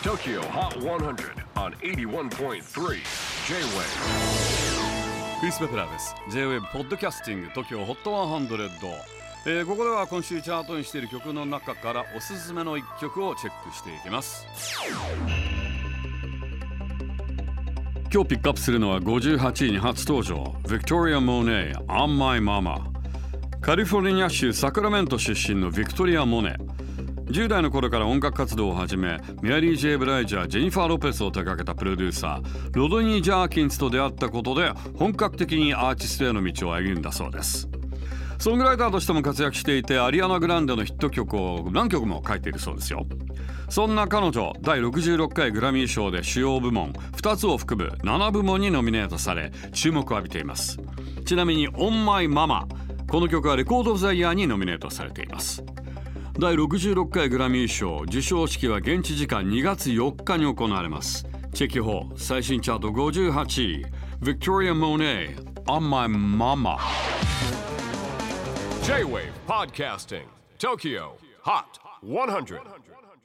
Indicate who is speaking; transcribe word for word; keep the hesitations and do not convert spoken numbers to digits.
Speaker 1: Tokyo Hot one hundred on エイティワンポイントスリー J-Wave。
Speaker 2: クリス・ベプラーです。 J-Wave ポッドキャスティング TOKYO ホットハンドレッド、えー、ここでは今週チャートにしている曲の中からおすすめのいっきょくをチェックしていきます。今日ピックアップするのはごじゅうはちいに初登場 Victoria Monet On My Mama。 カリフォルニア州サクラメント出身のビクトリア・モネ、じゅう代の頃から音楽活動を始め、メアリー・ジェイ・ブライジャー、ジェニファー・ロペスを手掛けたプロデューサーロドニー・ジャーキンスと出会ったことで本格的にアーティストへの道を歩んだそうです。ソングライターとしても活躍していて、アリアナ・グランデのヒット曲を何曲も書いているそうですよ。そんな彼女、だいろくじゅうろっかいグラミー賞で主要部門ふたつを含むななぶもんにノミネートされ注目を浴びています。ちなみに On My Mama、 この曲はレコード・オブ・ザ・イヤーにノミネートされています。だいろくじゅうろっかいグラミー賞授賞式は現地時間にがつよっかに行われます。チェキホー最新チャートごじゅうはちい Victoria Monet On My Mama。
Speaker 1: J-Wave Podcasting Tokyo Hot one hundred